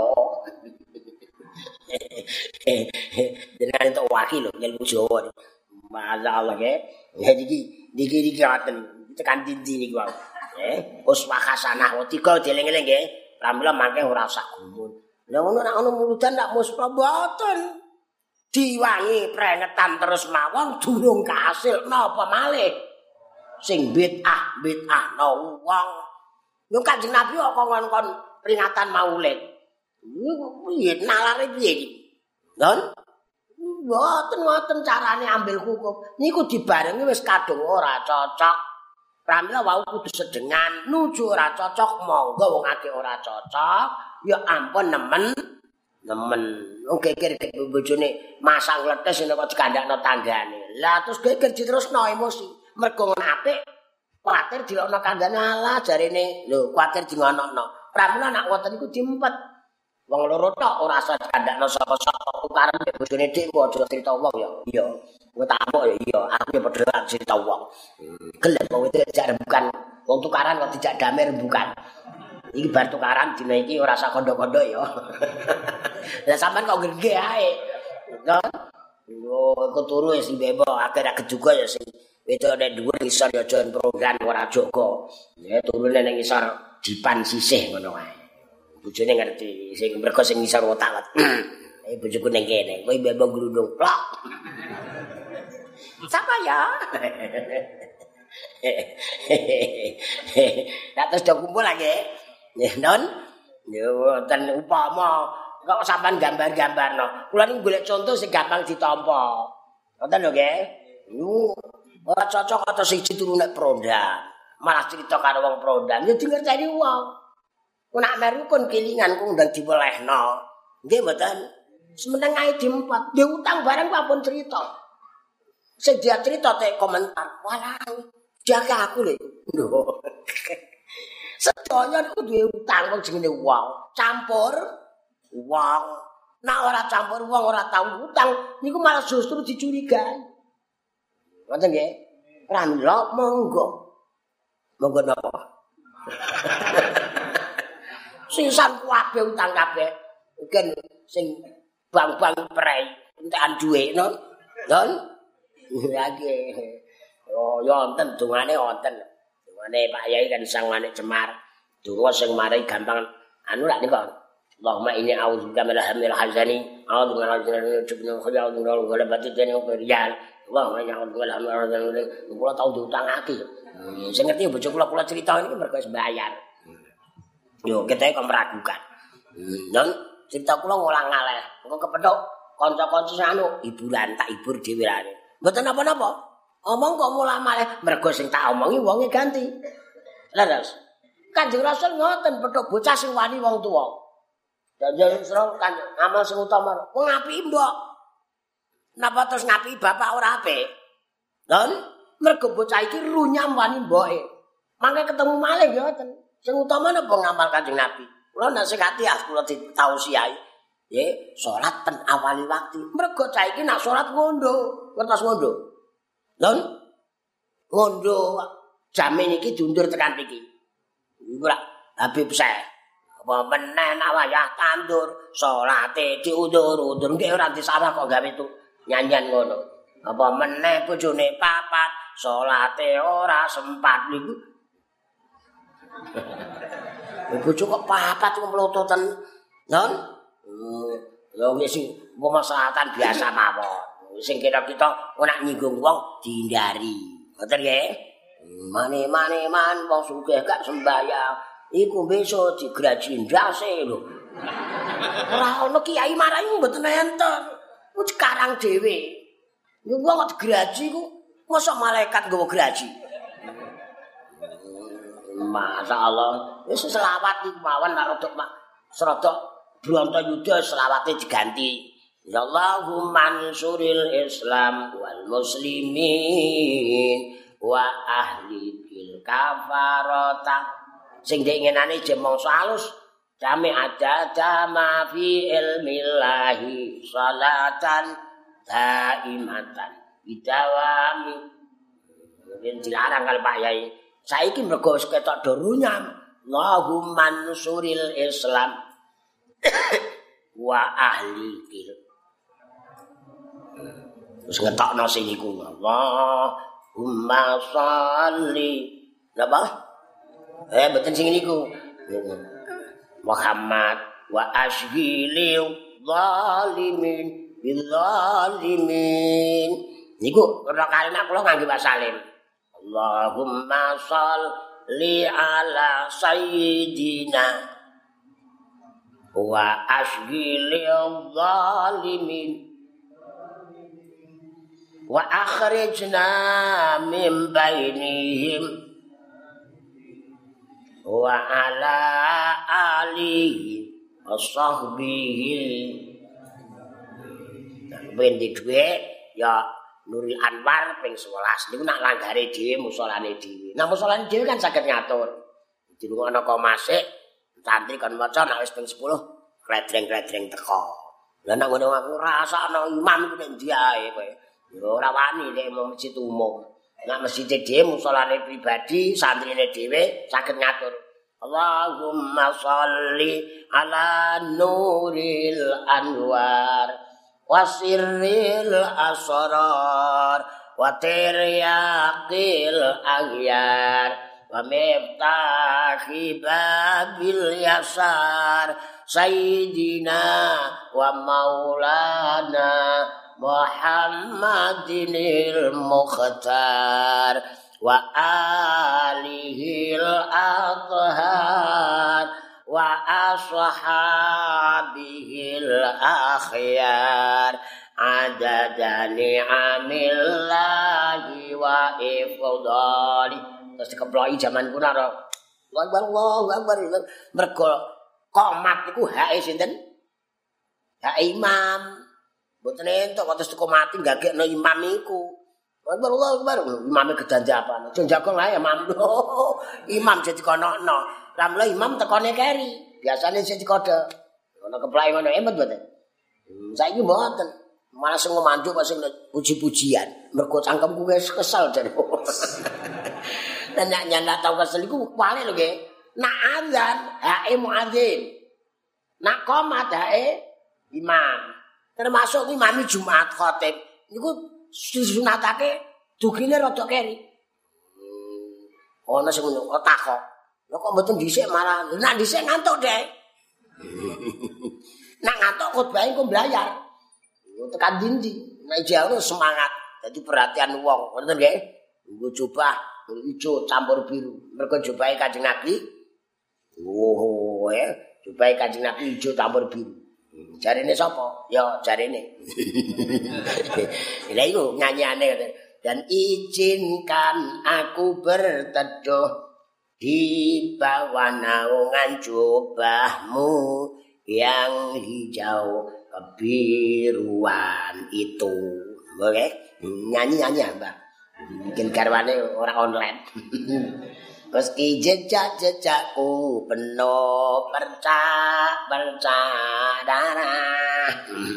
Dengan entuk wakil lho ilmu Jawa. Masyaallah nggih. Ya iki ngaten. Tekan dindi niku wae. Uswah hasanah tiga dieling-eling nggih. Pramila mangke ora usah gumun. Lah ngono nek ana muludan nak muspa mboten. Diwangi prengetan terus mawon durung kasil napa malih sing bid'ah no wong yo Kanjeng Nabi kok kon peringatan Maulid piye nalare piye iki Don mboten carane ambil hukum niku dibarengi wis kadung ora cocok pramila wau kudu sedengan nuju ora cocok monggo wong akeh ora cocok ya ampun nemen geger bojone masang letes nek kok dikandakno tanggane. Lah terus geger diterusno emosi. Mergo ngono apik kuwatir dilokno kandhane ala jarene lho kuwatir dingonokno. Pramila nek wonten iku diempet. Wong loro tok ora usah dikandakno sapa-sapa tukaran mek bojone dik kok aja crita wong ya. Iya. Kowe tak apuk ya iya, aku ya padha crita wong. Gelem wong itu jak rembukan. Wong tukaran kok dijak damai rembukan. Iki bar tukaran dina iki ora sak kondok-kondok ya. Lah sampean kok nggih ae. Kan? Yo iku turu wis bebo, akhir kejuga ya sing wedok nek dhuwur isor ya aja program ora jaga. Ya turune ning isor dipan sisih ngono wae. Bojone ngerti sing mergo sing isor otak. Bojoku ning kene, kowe bebo glundung plok. Sapa ya? Nek terus do kumpul lagi. Non, yo ten upama kok sampean gambar-gambarno. Kula niku golek contoh sing gampang ditampa. Ngoten lho nggih. Ora cocok atau siji turu nek prondan. Malah cerita karo wong prondan ya dingerteni wong. Ku nak meru kon kelingan ku ndang diwelehno. Nggih mboten. Semeneng ae diempet. Dia utang barang ku ampun cerita. Sing dia cerita tek komentar. Walah, jaga aku lho. Lho. Sedaya niku duwe utang wong jenenge wong. Campur wong. Nek ora campur wong ora tau utang niku malah justru dicurigai. Ngoten nggih. Pramila monggo. Monggo napa? Sisan kabeh utang kabeh. Mungkin sing bang-bang prei entekan dhuwit no. Don. Lagi. Oh, ya wonten dungane wonten. Dungane Pak Yai kan Sang Manik Cemar. Donga sing marai gampang anu lak niku. Allahumma inni a'udzubika minal hamil hazani. A'udzubika minal jubnil khayal wa ghalabati dini wa rijal. Allahumma inni a'udzubika minal hamil hazani. Kula tau diutangake. Sing ngerti bojo kula cerita ini mergo wis bayar. Yo kita kok meragukan. Dan cerita kula ngulang ngaleh. Engko kepethuk kanca-kanca sing anu hiburan tak hibur dhewe rene. Mboten napa-napa. Omong kok mulah malih mergo sing tak omongi wonge ganti. Leres. Kanjeng Rasul ngoten petuk bocah sing wani wong tuwa. Janjane sira kan amal sing utama. Wong apik mbok. Napa terus ngapi bapak ora apik? Dan mergo bocah iki runyam wani mboke. Mangke ketemu malih ngoten. Sing utama napa ngamal Kanjeng Nabi. Kula nasihati kula ditausiai. Nggih, salat ten awali waktu. Mergo cah iki nak salat ngondo, ngertos ngondo. Lon ngondo jamin iki diundur tekan iki. Iku lak Habib Syekh. Apa meneh nak wayah tandur, salate diundur-undur nggih ora disawah kok gawe itu nyanyian ngono. Apa meneh bojone papat, salate ora sempat niku. Bojo kok papat kok mlototen. Non? Ya wis sing pemaslahatan biasa mawon. Sing kita ora nyinggung wong dihindari. Ngoten nggih? Mane-mane man wong sugih gak sembayang. Iku besok digraji ndase lho. Ora ono kiai marai mboten enten. Ku sekarang dhewe. Niku wong kok digraji ku mosok malaikat nggawa graji. Masyaallah. Wis selawat iki mawon rodok serodok Brontoyuda selawate diganti. Ya Allahumma ansuril Islam wal muslimin wa ahlikil kafarata. Sing dingenane jemongso alus jami ada jama fi ilmillahi salatan daimatan bidawami. Mungkin dilarang kali Pak Yai. Saiki mergo wis ketok do runyam. Allahumma ansuril Islam wa ahlikil. Terus ngetokno sing iku. Allahumma sholli. Napa? Mboten sing niku. Muhammad wa ashghili zalimin bil zalimin. Niku ora kalimat kula ngangge wasalin. Allahumma sholli ala sayyidina wa ashghili zalimin wa akhrijna min bainihim wa ala alihi wa sahbihi. Bendi duwe ya Nuril Anwar ping 11 niku nak langgare dhewe musolane dhewe. Nah musolane dhewe kan saged ngatur. Dirungokno kok masik santri kon maca nek wis ping 10 kledreng-kledreng teko. Lah nek ngono aku rasakno imam iku nek ndi ae kowe. Ya ora wani nek mau masjid umum. Nek masjid dhewe musolane pribadi, santrine dhewe saged ngatur. Allahumma sholli ala nuril anwar wasirril asrar wa tiryaqil aghyar wa miftahi babil yasar sayyidina wa maulana Muhammadinil Mukhtar wa alihil athhar wa ashabihil akhyar adada ni'amillahi wa ifdali. Terus dikeploki jaman kuna ro. Allahu akbar. Mergo qomat iku hake sinten? Hak imam. Mboten entuk kok terus teko mati gagekno imam iku. Allahu akbar. Imame gedanjapan. Aja jagong ae imam. Imam jadi kono-kono. Lah mulai imam tekone keri. Biasane sing dikode. Ono keplake ngono emot mboten. Saiki mboten. Malah sing ngomanduk kok sing puji-pujian. Mergo cangkemku wis kesel jare. Lah nek ndak tau kesel iku wale lho nggih. Nak azan hake muadzin. Nak qomat hake imam. Termasuk imam Jumat khatib niku disunatake dugine rada keri. Ana sing ngono kok takok. Lha kok mboten dhisik malah. Nek dhisik ngantuk, Dek. Nek ngantuk khotbah engko mbayar. Tekan dindi. Nek jauh semangat. Dadi perhatian wong, ngoten nggih. Nggo jubah ijo campur biru. Mergo jubahe Kanjeng Nabi. Oh, ya. Jubahe Kanjeng Nabi ijo campur biru. Jarine sapa? Ya jarine. Lha iku nyanyiane dan izinkan aku berteduh di bawah naungan jubahmu yang hijau kebiruan itu. Oke? Nyanyi-nyanyi Mbak. Mungkin garwane orang online. Meski jejak-jejakku penuh bercak-darah.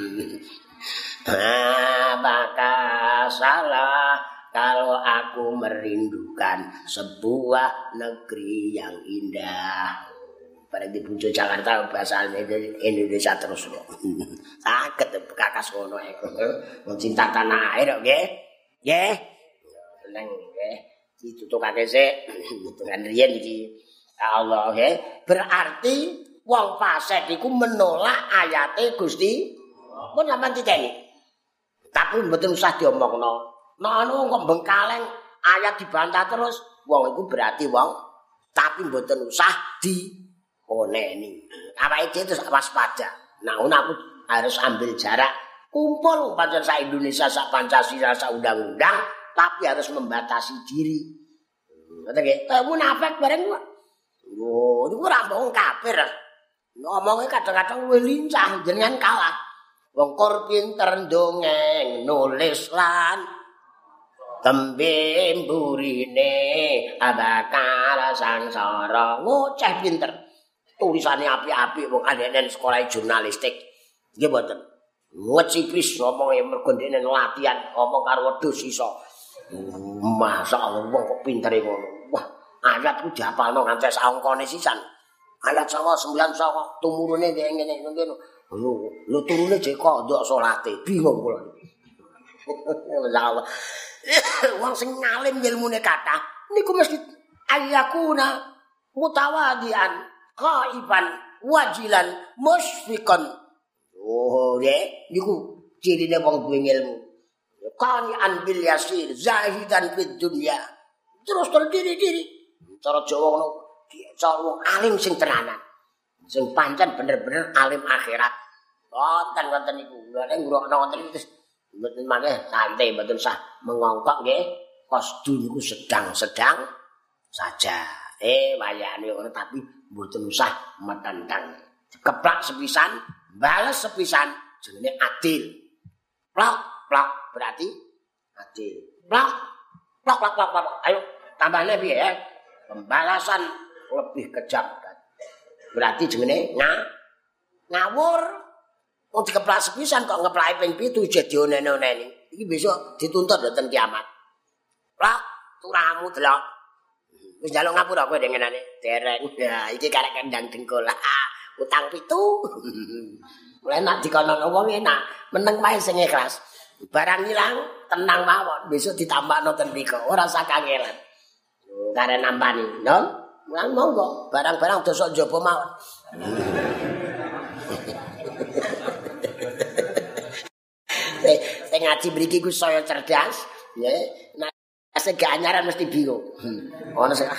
Apakah salah kalau aku merindukan sebuah negeri yang indah? Pada di Puncak Jakarta bahasa Indonesia terus. Saged kakas ngono ae. Cinta tanah air nggih. Nggih. Seneng nggih. Ditutukake sik dengan riyen iki. Allah nggih. Berarti wong fasik iku menolak ayate Gusti. Mun sampean titeni. Tapi mboten usah diomongno. Nek anu kok bengkaleng ayat dibantah terus, wong iku berarti wong tapi mboten usah dioneni. Awake dhewe terus waspada. Nah, aku harus ambil jarak. Kumpul pancen sak Indonesia, sak Pancasila, sak undang-undang, tapi harus membatasi diri. Ngoten nggih. Munafik bareng kok. Oh, niku ora mung kafir. Ngomongnya kadang-kadang luwih lincah jenengan kalah. Wong kor pinter ndongeng nulis lan tembe mburine abakal sangsara ngoceh pinter. Tulisane apik-apik wong andenen sekolah jurnalistik. Nggih mboten. Ngecipris ngomongnya mergo ndekne latihan ngomong karo wedhus iso. Masyaallah wong kok pintere ngono. Wah, ayat ku dihafalno nganti saongkone sisan. Ayat 9 tumurune ngene ngene. Lho turune jek kok ndok salate. Bingung kula. Masyaallah. Wong sing ngalim ilmune kathah niku mesti ayakuna mutawadian khaiban wajilan musfiqan. Oh, nggih niku cirine wong duwe ilmu. Qani'an bil yasir zahidan fid dunya. Terus terdiri-diri. Cara Jawa ngono, cara wong alim sing tenanan. Sing pancen bener-bener alim akhirat. Wonten niku. Nek ngrungokno wonten iki mboten maneh santai mboten usah mengongkok nggih. Kosdu niku sedang-sedang saja. Wayane ngono tapi mboten usah metentang. Keplak sepisan, bales sepisan jenenge adil. Plak berarti adil. Plak. Ayo tambahnya piye ya? Pembalasan lebih kejam. Berarti jenenge ngawur. Wong dikeplak sepisan kok ngeplake ping 7 jadi dioneni-oneni. Iki besok dituntut lho ten kiamat. Plak turamu delok. Wis njaluk ngapura kowe dengenane dereng. Ya iki karek kendang dengkul. Utang 7. Mulai nak dikono wong enak, meneng wae sing ikhlas. Barang ilang tenang mawon, besok ditambahno ten mriko. Ora usah kangelan. Karek nampani, non? Mulang monggo, barang-barang dosa njaba mawon. Sing ngaji mriki ku saya cerdas, nggih. Nek sing gak anyaran mesti bingung. Ono sing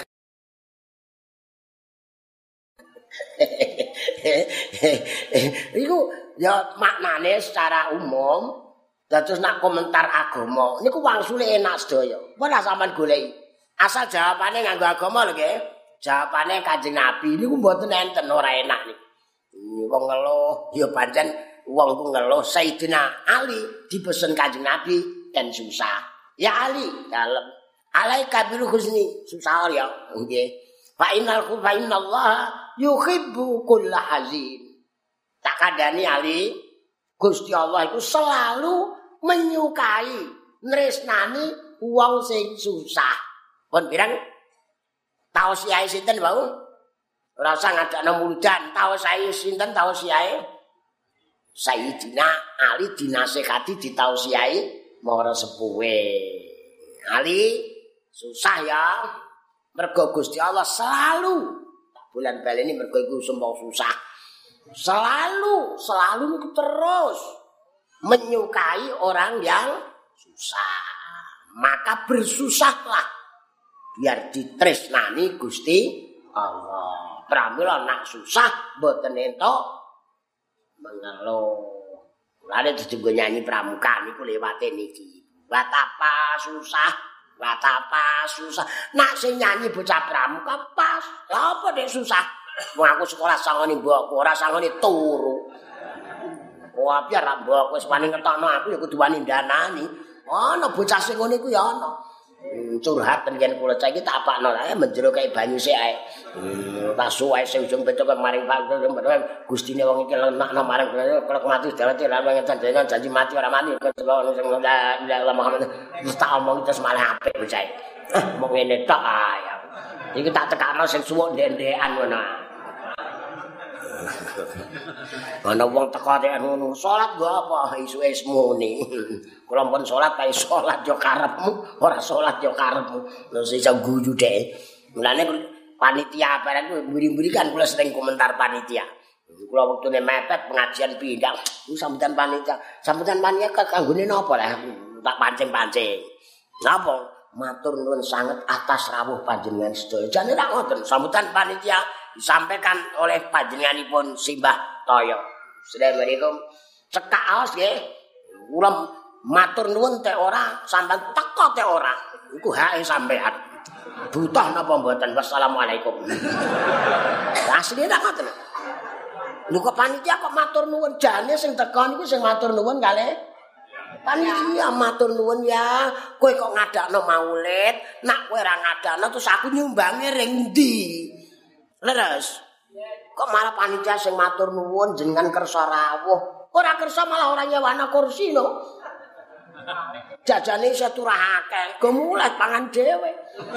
iku ya maknane secara umum dados nak komentar agama niku wangsule enak sedaya. Ora sampean goleki. Asal jawabane nganggo agama lho nggih. Jawabane Kanjeng Nabi niku mboten enten ora enak niku. Wong ngeluh ya pancen wong ku ngeluh Sayyidina Ali dipesen Kanjeng Nabi ten susah. Ya Ali dalem alaika bil husni susah ya nggih. Fa innallaha yuhibbu kulla hazin. Tak kandhani Ali, Gusti Allah itu selalu menyukai nresnani wong sing susah. Pun pirang tausiah sinten wau? Ora usah ngadakno muludan, tausiah sinten tausiah? Sayyidina Ali dinasehati ditausiahi marang sepuhe. Ali susah ya. Mergo Gusti Allah selalu bulan baleni mergo iku sumpah susah. Selalu niku terus menyukai orang yang susah. Maka bersusahlah biar ditresnani Gusti Allah. Pramila nak susah mboten entuk mengeluh. Lha dijenggo nyanyi pramuka niku lewate niki. Betapa susah. Nak sing nyanyi bocah pramuka pas. Lah apa nek susah? Wong aku sekolah sangone mbokku, ora sangone turu. Wah, biar ra mbokku wis wani ngetokno aku ya kudu wani ndanani. Ana bocah sing ngene iku ya ana. Curhat yen kula cah iki tak apakno ae menjero kaya banyu sik ae. Tak suwe sing ujung beto kok maring Pak Gustine wong iki lenakno maring kelek mati dawete ra ngeten janji mati ora mati kelo sing Allah Muhammad wis tak omong terus malah apik bocah. Mong ngene tok ae. Iki tak tekakno sing suwuk ndek-ndekan ngono. Ana wong teko tek ngono, salat nggo apa isuke semuni. Kula pun salat kae salat yo karepmu, ora salat yo karepmu. Lha iso guyu dhek. Mulane panitia bareng mburi-mburi kan kula sering komentar panitia. Kula wektune mepet pengajian pindang, sambutan panitia. Sambutan panitia kanggone napa lah? Tak pancing-pancing. Napa? Matur nuwun sanget atas rawuh panjenengan sedaya. Jane ra ngoten, sambutan panitia disampaikan oleh panjenenganipun Simbah Toyo. Assalamualaikum. Cekak aos nggih. Kula matur nuwun teh ora, sampean teko teh ora. Iku hake sampean. Butuh napa mboten? Wassalamualaikum. Asline tak ngoten. Lho kok panitia kok matur nuwun jane sing teko niku sing matur nuwun kalih panitia matur nuwun ya. Kowe kok ngadakno maulid, nak kowe ora ngadakno terus aku nyumbange ring ndi? Leres. Kok malah panitia sing matur nuwun jenengan kersa rawuh. Ora kersa malah ora nyewano kursi lho. Jajane isih turahake, go mulai pangan dhewe.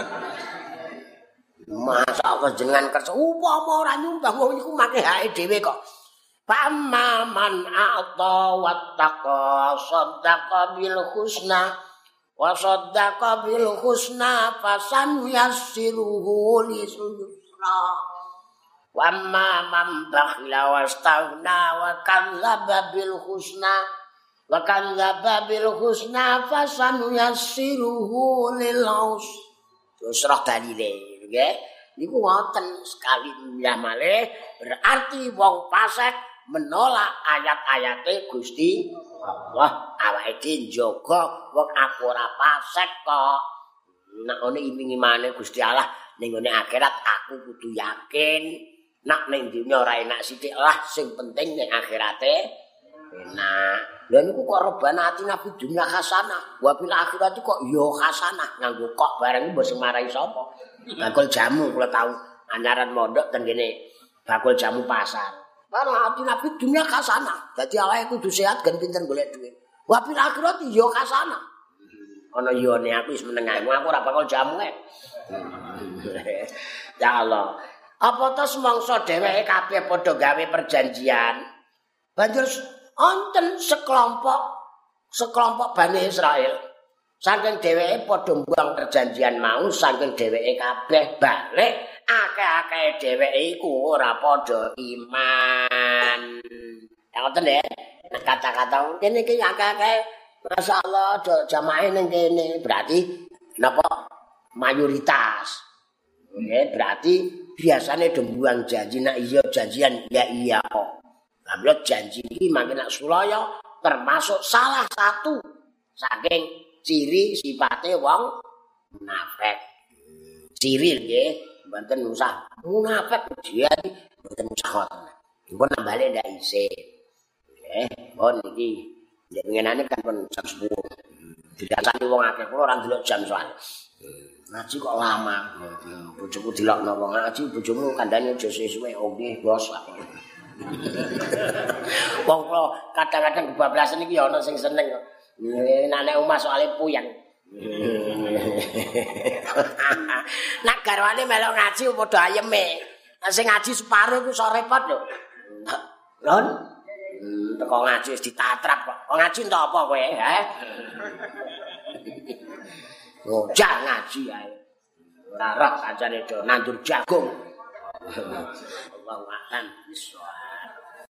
Masa kok jenengan kersa upama ora nyumbang wong niku make hake dhewe kok. Pamaman a'ta wattaqa saddaqa bil husna wa saddaqa bil husna fasan yassiruhu lisra wa man bakhila wastaghna wa kadzdzaba bil husna fasan yassiruhu lil usra dalile nggih niku wonten sekali ya malih berarti wong fasik menolak ayat-ayate Gusti Allah. Awake iki njaga wong aku ora fasik kok. Nek ngene iming-imane Gusti Allah ning ngene akhirat aku kudu yakin. Nek ning dunya ora enak sithik lah, sing penting ning akhirate enak. Lha niku kok rebana atina fi dunya hasanah, wa fil akhirati kok ya hasanah. Nganggo kok bareng mbok sing marahi sapa? Bakul jamu kula tau anyaran mondok teng kene bakul jamu pasar. Karena atina fi dunya hasanah. Dadi awake kudu sehat gen pinter golek dhuwit. Wa fil akhirati ya hasanah. Ana yone aku wis meneng aku ora bakul jamu ae. Ya Allah. Apa to semangsa dheweke kabeh padha gawe perjanjian. Banjur wonten sekelompok Bani Israil. Saking dheweke padha mbuang perjanjian mau, saking dheweke kabeh balik, akeh-akeh dheweke iku ora padha iman. Ya ngoten nggih. Kata-kata kene iki akeh-akeh masyaallah jamaah ning kene berarti napa mayoritas. Nggih, berarti biasane do mbuang janji nek iya janjian ya iya kok. Lah janji iki makin nak sulaya termasuk salah satu saking ciri sipate wong munafik. Ciri nggih, mboten usah munafik jian mboten usah ngoten. Mpun nambale ndak isih. Nggih, pun iki nek ngenane kan pun jam 10. Dirasani wong akeh kula ora ndelok jam soal. Ngaji kok lama. Bojoku dilokno wong ngaji, bojomu kandhane aja suwe-suwe. Oh nggih, Bos. Wong kula kadang-kadang kebablasan iki ya ana sing seneng kok. Nek omah soalé puyeng. Nek garwane melok ngaji padha ayeme. Nek sing ngaji separo iku iso repot lho. Lon. Teko ngaji wis ditatrap kok. Kok ngaji entuk apa kowe, he? ngojak ngaji ae. Ora roh kancane do nandur jagung. Allahu a'lam bishawab.